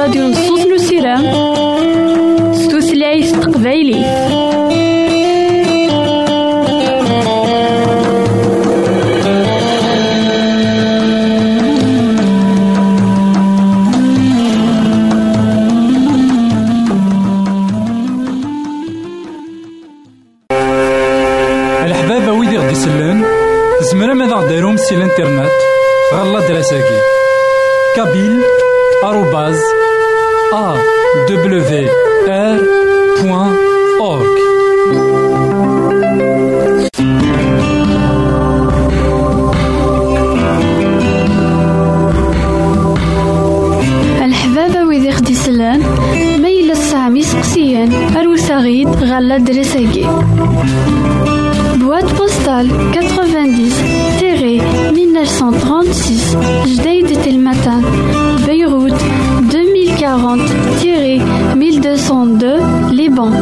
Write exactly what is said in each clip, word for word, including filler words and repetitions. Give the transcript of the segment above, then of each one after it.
راديو نصوص نسيرام ستوثلايف تقبايلي. الحبابة ويدي غدي يسلن زمرا ماذا غديرهم سي الانترنت غالا دراساكي كابيل آروباز أ دبليو آر بوان أورك. الحبابة ويدي غدي يسلن ميلا السامي سقسيان أروساغيد غالا دراساكي boîte postale quatre-vingt-dix mille neuf cent trente-six Jdeï de Telmatan, Beyrouth deux mille quarante mille deux cent deux Liban.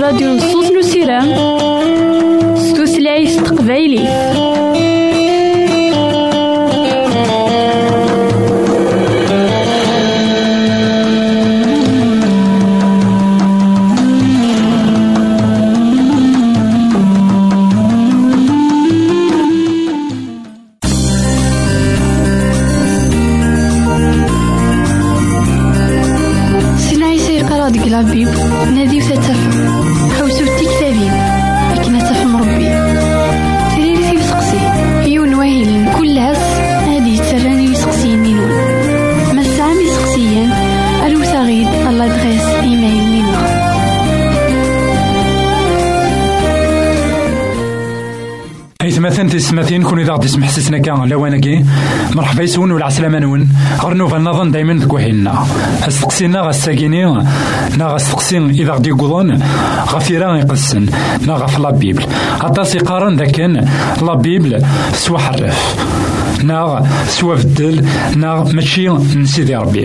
راديو نصوص نسيران ستوثلايف تقبايلي. لابيب نادي وتتفهم حوسو التكتابين لكن تفهم ربي تريد في سقسي يون واهلين كل هس هادي تراني يسقسي مينون ما سامي سقسيا الو تغيد الله دغيس ايمايل لنا. مثلا تسمعين كوني ضاغد تسمح سسنا كان لوانكي مرحبا يسون ولا عسلامة نون غرنو فالنظن دايما ذكوحينا استقسينا غساكيني نا غستقسين إذا غدي يقولون غفيران يقسن نا غف لا بيبل عطاسي قارن ذاكن لا بيبل سوا حرف نا سوا بدل نا ماشي نسيدي ربي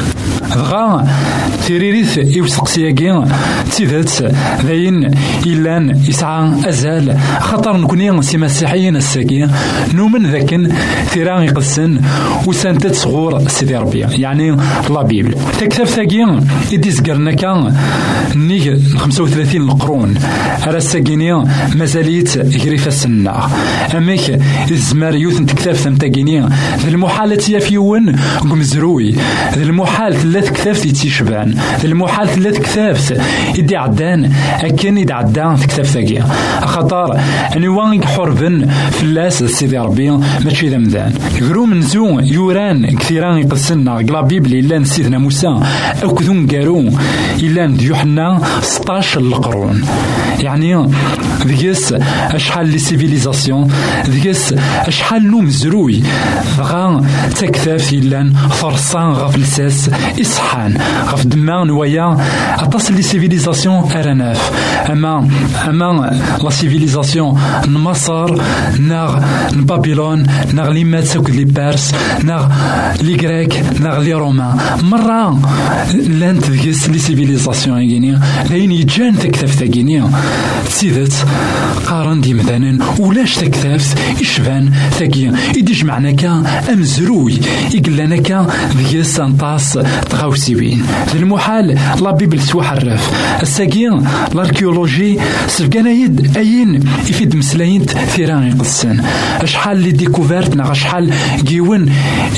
دغا تيريريث يوسقسياكي تيدات ذاين إلان يسعى أزال خطر نكوني سي مسيحيين الساكي نومن ذاكن ثيران يقسن وسانتات صغور سيدي ربي يعني لا بيبل تكتب ثاكي إديس قرنا كان نيك خمسة وثلاثين القرون على الساكيني مازاليت غريفة السنة أميك الزمار يوثن تكتب ثمتاكيني ذا المحالة يافيون قمزروي ذا المحال ثلاث كتافت يتيشبان المحال ثلاث كتافت يدي عدان أكن يدي عدان تكتاف ثاقيا خطر أني وان حربن فلاس سيدي ربي ماشي ذا مذان يقولوا من زو يوران كثيران يقسلنا قلا بيبلي إلا سيدنا موسى أو كذون قارو إلا يوحنا ستاش القرون يعني ذيس أشحال لي سيفيليزاسيون ذيس أشحال نوم زروي غا تكتاف إلا فرصان غفلساس إصحان غف دمان ويا أتص لي سيفيليزاسيون أرناف أما أما لا سيفيليزاسيون مصر ناغ بابلون ناغ لي ماتسوك لي بارس ناغ لي غريك ناغ لي رومان مرة لانت ذيس لي سيفيليزاسيون يجيني لين يجان تكتاف تاكيني سيدت قارن دي مثلا ولاش تكتاف يشبان تاكي يديش معنا كا أمزروي يقلنا كا ذيس سانطاس تغاوسيبين المحال لا بيبل سوا حرف الساقين الاركيولوجي سفقنا يد اين يفيد مسلاين ثيران يقصن اشحال لي ديكوفيرت ناغ اشحال جيون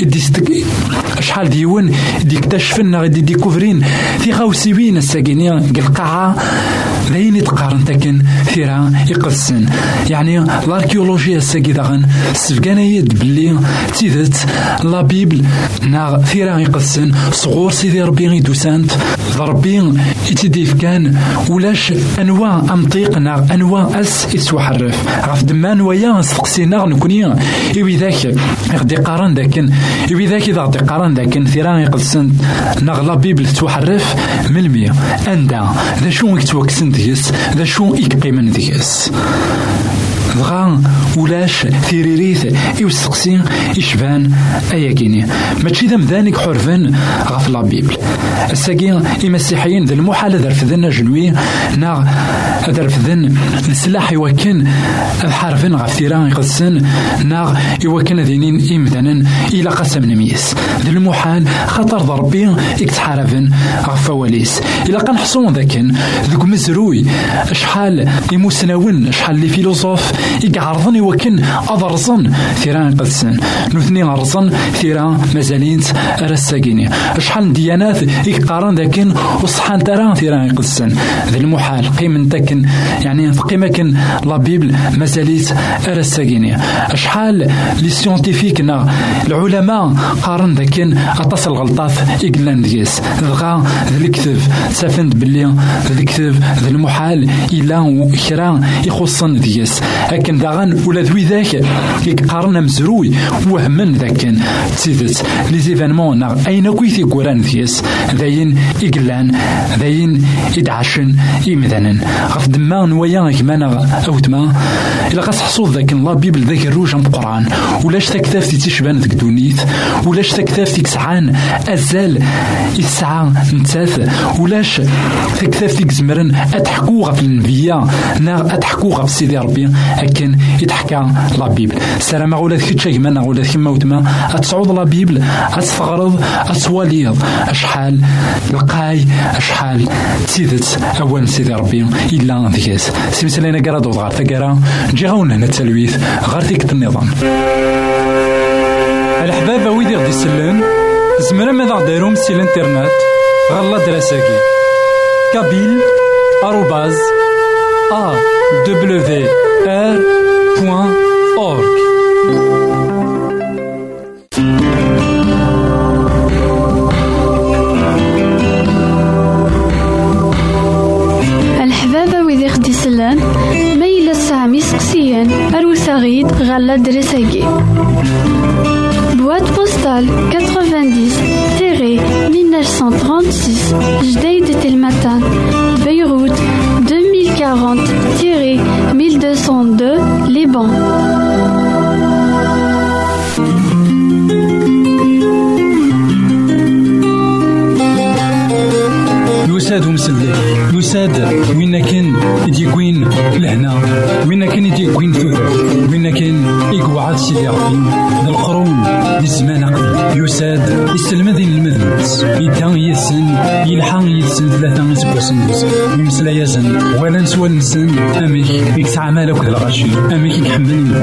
اشحال ديون ديكتشفن غادي ديكوفرين في غاوسيبين الساقينين القاعه ذاين يتقارن تاكن ثيران يقصن يعني الاركيولوجيا الساقي داغن سفقنا يد بلي تيدت لا بيبل ناغ ثيران يقصن صغور سيدي ربي غيدوسانت ربي يتديف كان ولاش انواع امطيقنا انواع اس يسوى حرف غف دمان ويا سقسينا نكوني ايوي ذاك غدي قارن ذاك ايوي ذاك اذا غدي قارن ذاك ثيران يقصن نغلا بيبل توحرف من المية اندا ذا شو يتوكسن ديس ذا شو يقيمن ديس دغا ولاش ثيريريث يوسقسي يشبان اياكيني ماشي ذا مذانك حرفن غف لا بيبل الساقين المسيحيين ذا المحال ذا رفذن جنوي نا ذا رفذن السلاح يوكن حرفن غف ثيران يقسن نا يوكن ذينين إمثلا إلى قسم نميس ذا المحال خطر ضربي يكتحارفن غف فواليس إلا قنحصون ذاكن ذوك مزروي اشحال يموسناون اشحال لي فيلوزوف يقعرضن يوكن أضرزن ثيران قدسن نثني أرزن ثيران مازالينت أرساقيني أشحال ديانات يقارن ذاكن وصحان تران ثيران قدسن ذا المحال قيمن تاكن يعني قيمة كن لا بيبل مازاليت أرساقيني أشحال لي سيونتيفيكنا العلماء قارن ذاكن أتصل غلطات إقلان ديس ذغا ذا الكتب سافند بلي ذا الكتب ذا المحال إلا كرا يخصن ديس أكن داغن ولا ذوي ذاك يقارن مزروي وهمن ذاك تيدت لي زيفينمون أين كويتي قران ذيس ذاين إقلان ذاين إدعشن إمذنن غف دمان ويا كمان أوتما إلا قاس حصول ذاك الله بيبل ذاك الروج القرآن ولاش تكتافتي تشبان ذاك دونيت ولاش تكتافتي كسعان أزال الساعة نتاث ولاش تكتافتي زمرن أتحكو غف النبيا نا أتحكو غف سيدي ربي أكن يتحكى لا بيبل سلام أقول لك شيء كمان أقول لك كما وتما أتصعود لا بيبل أتفغرض أتواليض أشحال القاي أشحال تيدت أول سيدي ربي إلا ذيكاس سيمسلينا قرادو ضغار فقرا نجي غاون هنا التلويث غير ثيك النظام الحباب ويدي غدي يسلن زمرا ماذا دايرهم سي الانترنت غالا دراساكي كابيل آروباز أ دبليو آر بوان أورك. الحبابة ويدي خدي سلان ميلا سامي سقسيان أروساغيد غالا دراساكي boîte postale quatre-vingt-dix mille neuf cent trente-six Jdeï de Telmatan Beyrouth deux mille quarante mille deux cent deux Liban. يساد ومسلي يساد وين كان يديكوين لهنا وين كان يديكوين ثوث وين كان يقعد سيدي ربي القرون للزمان يساد يسلم ذي المذنبس يدان يسن يلحق يسن ثلاثة سبوسن يمسلا يزن ولا نسوى النسن أميك يكسع مالك الغشي أميك يحملني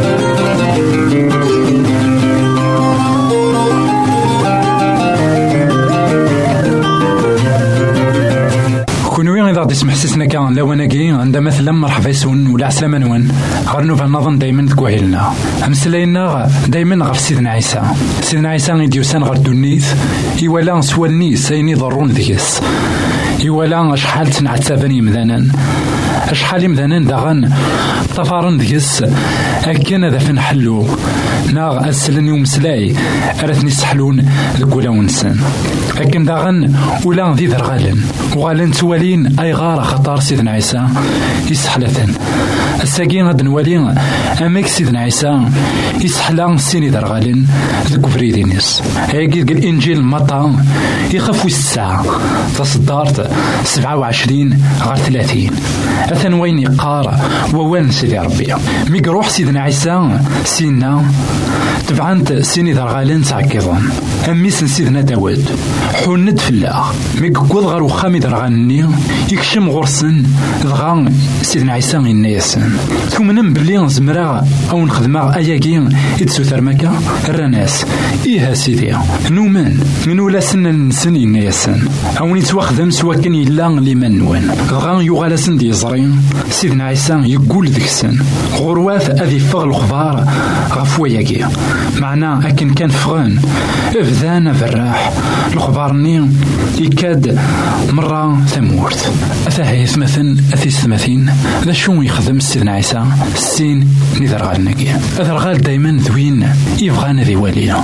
كونوي إذا غادي تسمح سيسنا كان لواناكي عندما مثلا مرحبا يسون ولا عسلامة نوان غير في النظام دايما تكوهيلنا أمسلاينا دايما غف سيدنا عيسى سيدنا عيسى يديوسان غير دونيث يوالا سوالني سايني ضرون ذيس يوالا شحال تنعتابني مذانا شحال مذانا داغن طفارن ذيس أكن هذا فين حلو ناغ أسلني ومسلاي أرثني سحلون ذكولا ونسان أكن داغن ولا ذي ذرغالن وغالن توالين أي غارة خطار سيدنا عيسى يسحلثن الساقين غد نوالين أميك سيدنا عيسى يسحلا سيني ذرغالن ذكو فريدينيس هيك الإنجيل مطا يخفو الساعة تصدارت سبعة وعشرين غير ثلاثين أثن وين يقار ووان سيدي ربي ميقروح سيدنا عيسى سينا تبعانت سيني ذرغالن تعكيضان أميس سيدنا داود حوند في الله ميقود غير وخامي ذرغالني يكشم غرسن ذغان سيدنا عيسى الناس ثم نمبلي زمرا أو نخدمها أياكي إدسو ثرمكا الرناس إيها سيدي نومن من ولا سن نسن الناس أو نتواخدم سوا كان يلا لمن نوان غان يغالا سن دي زرين سيدنا عيسى يقول ذيك السن غرواث أذي فغ الخضار غفوياكي معنا أكن كان فغان إفذان فراح الخضارني يكاد مرة ثمورت أثاهيث مثلا أثيث ثمثين ذا شو يخدم سيدنا عيسى السين نذر غالناكي أثر غال دايما ذوين يبغان ذي واليا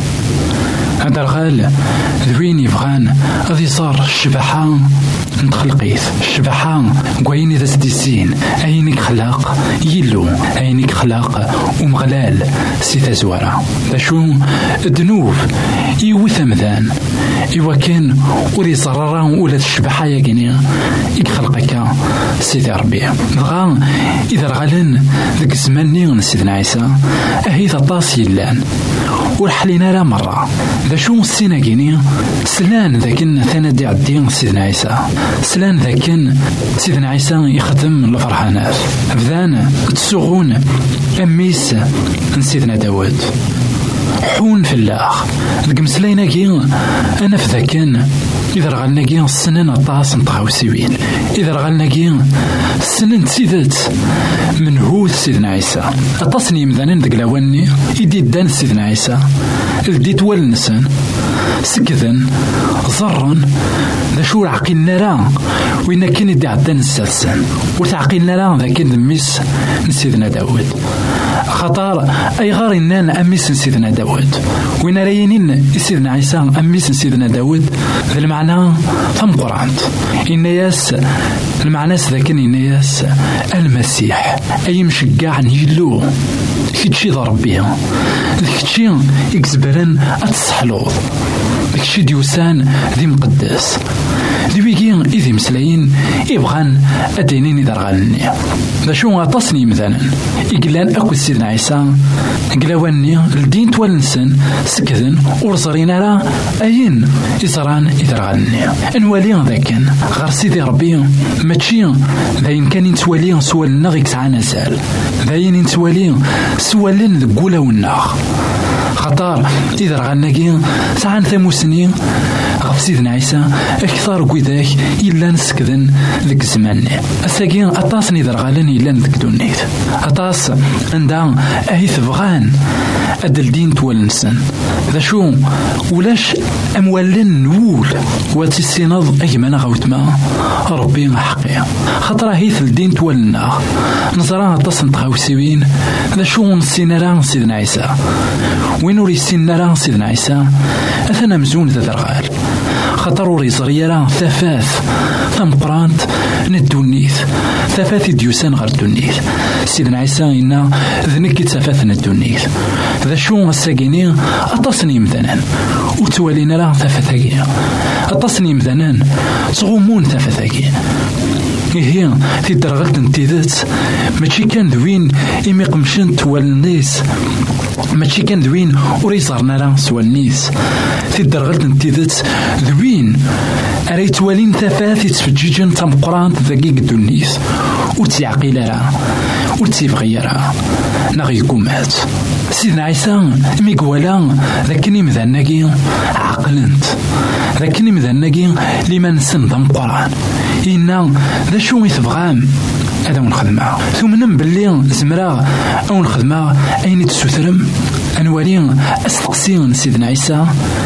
هذا الغال ذوين يبغان غادي صار الشبحة نتخلقيث الشبحة قوين إذا سديسين أينك خلاق يلو أينك خلاق ومغلال سيتا زوارا ذا شو الذنوب يوث مذان إوا كان ولي صرارا ولا الشبحة يقيني يخلقك سيدي ربي بغا إذا غالن ذاك الزمان سيدنا عيسى أهي طاس يلان ورحلينا لا مرة ذا شو السنة كيني سلان ذاكن ثنا دي عدين سيدنا عيسى سلان ذاكن سيدنا عيسى يخدم الفرحانات بدان تسوغون أميس سيدنا داود حون في الله ذاك مسلينا كي أنا في ذاكن إذا رغلنا كي السنين طاس نطغاو سوين إذا رغلنا كي السنين تسيدت من هو سيدنا عيسى أطاسني مذانين ذاك لواني يدي دان سيدنا عيسى الديت والنسان سكذن ضرن ذا شو عقلنا راه وين كان يدي عدان السلسان وتعقلنا راه ذا كان دميس نسيدنا داود خطار أي غار إنان أميس سيدنا داود وين رينين سيدنا عيسى أميس سيدنا داود ذا المعنى ثم قرآن إن ياس المعنى ذاكن إن ياس المسيح أي مشجع نيلو كتشي ضربيها كتشي يكزبرن أتصحلوض كتشي ديوسان ذي مقدس ذي ويجين إذي مسلاين يبغان أدينين درغالني ذا شو غاطسني مثلا يقلان أكو سيدنا عيسى قلاواني الدين توالنسن سكذن ورزرين راه أين إزران يدرغالني أنوالي ذاكن غير سيدي ربي ماشي ذاين كان ينتوالي سوالنا غيك سعانا سال ذاين ينتوالي سوالن ذقولا والناغ خطار إذا رغالناكي سعان ثموسني غف سيدنا عيسى أكثر قيداك إلا نسكذن ذك الزمان أساقين أطاس نيذر غالن إلا ذك دونيت أطاس عندها أهيث بغان أدل دين توالنسن ذا شو ولاش أموالن نول واتي السيناض أجمانا غوتما ربي حقيا خطرة هيث الدين توالنا نظرا أطاس نتغاوسيوين ذا شو نسينا سيدنا عيسى وين وري سينا سيدنا عيسى أثنا مزون ذا درغال خطر وريزري راه ثفاث ثم قرانت ندونيث ثفاث ديوسان غير دونيث سيدنا عيسى إنا ذنكي ثفاث ندونيث ذا شو الساقيني أتصني مثلا وتوالينا راه ثفاثاكي أتصني مثلا صغمون ثفاثاكي هي في درغلت انتيذات ماشي كان ذوين إمي قمشن توالنيس ماشي كان ذوين وريزارنا راه سوالنيس في درغلت انتيذات ذوين أريت والين ثفاث يتفجيجن تم قران ذاكي قدونيس وتيعقيل راه وتيبغي راه ناغي قومات سيدنا عيسى ميقوالا ذاكني مذناكي عقلنت ذاكني مذناكي لمن سنضم قران إنا ذا شو يتبغام هذا ونخدمها ثم نم باللي زمرا أو نخدمها أين تسوثرم أنوالي أستقسين سيدنا عيسى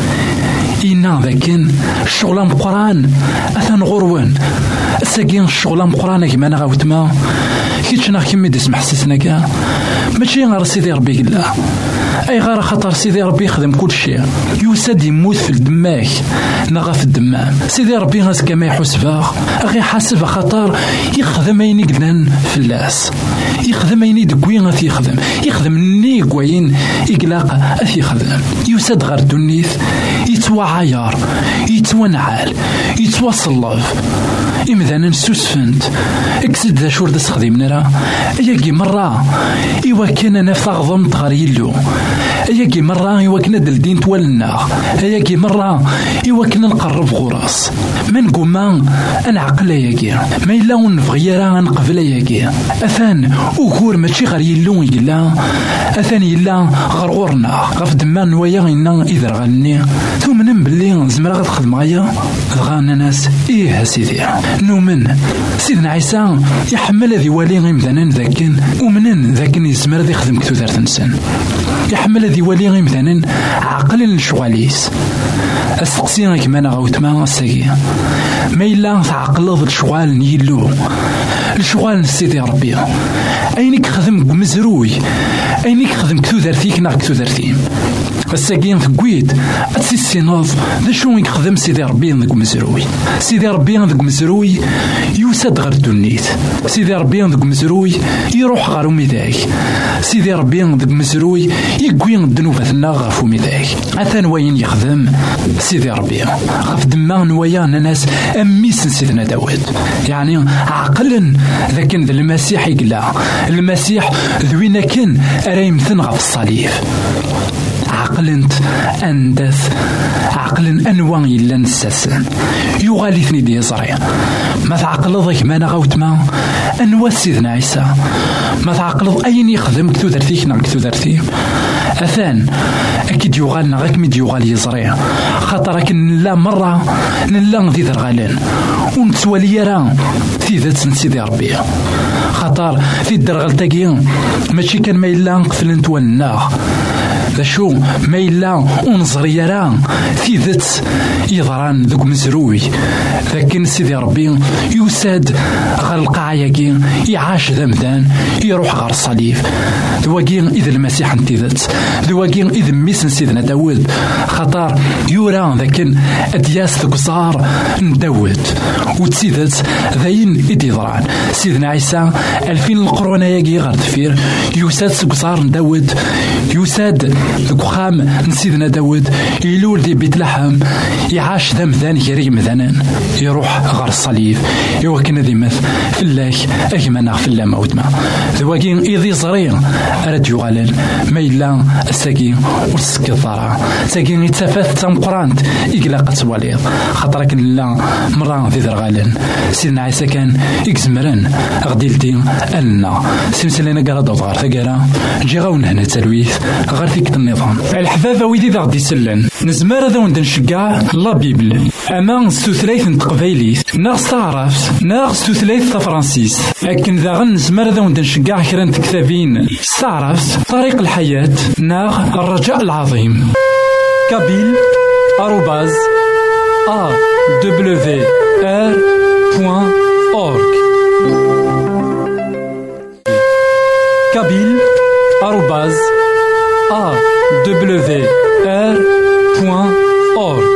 إنا ذاكن الشغل مقران أثن غروان الساقين الشغل مقران كما أنا غاوتما كيتشنا كمي ديسمح سيسناكا ماشي غير سيدي ربي قلا أي غير خطر سيدي ربي يخدم كل شيء يوسد يموت في الدماغ نغا في الدمام سيدي ربي غاس كما يحسبها أخي حاسب خطر يخدم أين يقدن في اللاس يخدم أين يدقوي غاث يخدم يخدم ني قوين يقلاق أث يخدم يوسد غير دونيث يتوى عيار يتوى نعال يتوى صلاف إمذانا نسوسفنت اكسد ذا شور دس خديمنا راه أياكي مرة إوا كان نفاق ضمت غير يلو أياكي مرة إوا كنا دلدين توالنا أياكي مرة إوا كنا نقرب غراس من قوما أنا عقل أياكي ما إلا ونفغي راه نقبل أياكي أثان أكور ماشي غير يلو يلا أثان يلا غير غورنا غف دمان نوايا إنا إذا غني ثم نبلي زمرا غتخدم غايا غانا ناس إيه سيدي نومن سيدنا عيسى يحمل ذي والي غيمثانا ذاكن ومنن ذاكن يزمر ذي خدم كتو ذات نسن يحمل ذي والي غيمثانا عقل الشغاليس السقسي كما انا غوتما الساقي ما إلا تعقلض الشغال نيلو الشغال سيدي ربي أينك خدم مزروي أينك خدم كتو ذرتيك نا كتو ذرتيم الساقين ثقويت أتسي ناض ذا شو يخدم سيدي ربي ذاك مزروي سيدي ربي ذاك مزروي يوسد غير دونيت سيدي ربي ذاك مزروي يروح غير ميداك سيدي ربي ذاك مزروي يقوي الذنوباتنا غافو ميداك أثان وين يخدم سيدي ربي غاف دما نوايا ناس أميس سيدنا داود يعني عقلا ذاك المسيح يقلا المسيح ذوينا كان رايمثن غاف الصليب عقلنت أندث عقل أنواع إلا نساسن يغالثني دي زريع ما تعقلض ذاك ما نغوتما أنوا سيدنا عيسى ما تعقلض أين يخدم كتو درتيك نا كتو درتي أثان أكيد يغالنا غاك ميد يغال يزريع خاطرك لا مرة نلا ذي ذرغالين ونتوالي راه في ذات سيدي ربي خاطر في الدرغل تاكي ماشي كان ما إلا نقفل نتوالنا ذا شو ما إلا ونظري راه في ذات يضران ذوك مزروي لكن سيدي ربي يساد غلقا ياكي يعاش ذمذان يروح غير الصليب ذواكي إذا المسيح انتذات ذواكي إذا ميسن سيدنا داود خطر يورا ذاكن أدياس ذكزار داود وتسيدات ذاين إدي ضران سيدنا عيسى ألفين القرون ياكي غير دفير يساد ذكزار داود يساد ذكخام سيدنا داود يلول ذي بيت لحم يعاش ذمذان يري مذنان يروح غير الصليب يوكن ذي مث في الله أجمنا في الله موتما ذواكين إذي صرير أرد يغالل ما إلا الساكين والسك الضرع ساكين يتسافات تام قرانت إقلاقة واليض خطرك لا مرة ذي ذرغالن سيدنا عيسى كان إكزمرن غديلتي ألنا سلسلنا قرا دوضغار ثقارا جي غاون هنا تلويث غير فيك النظام الحبابة ويدي ذا غدي سلن نزمار ذا وندن شقاع لا بيبل أما ستوثلايث نتقبايليث ناغ تعرفت ناغ ستوثلايث فرانسيس لكن ذا غن نزمار ذا وندن شقاع كران تكتابين استعرفت طريق الحياة ناغ الرجاء العظيم كابيل آروباز أ دبليو آر بوان أورك كابيل آروباز أ دبليو آر بوان أورك.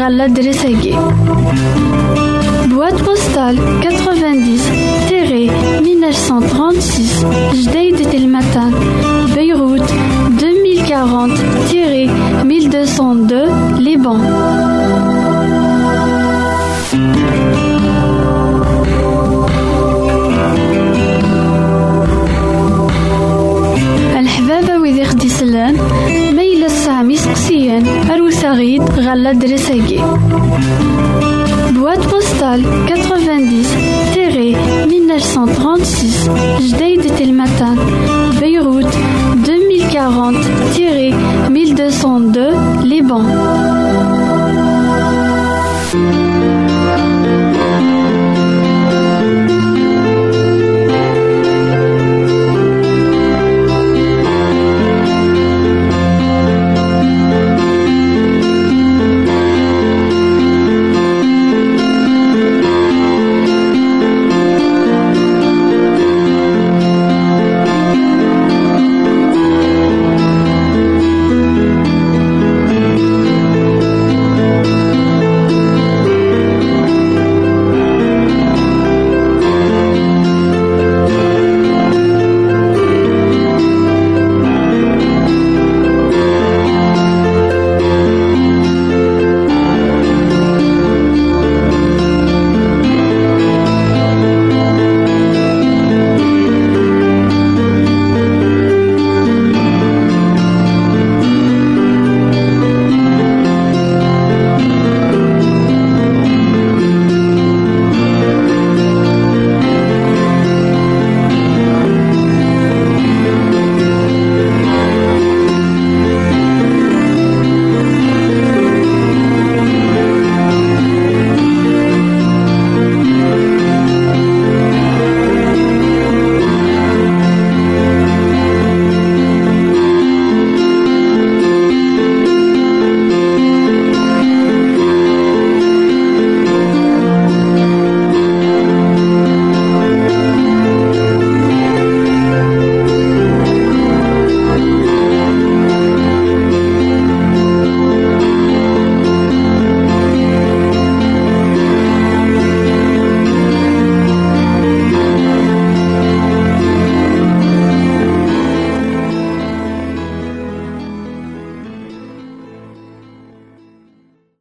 غالا دريساكي. Boîte postale quatre-vingt-dix mille neuf cent trente-six Jdeï de Telmatan, Beyrouth deux mille quarante mille deux cent deux, Liban. الحبابة وذي خديسلان ميل السامي سقسيان أروسا غيد غالا دريساكي. Boîte postale quatre-vingt-dix mille neuf cent trente-six Jdeï de Telmatan, Beyrouth deux mille quarante mille deux cent deux, Liban.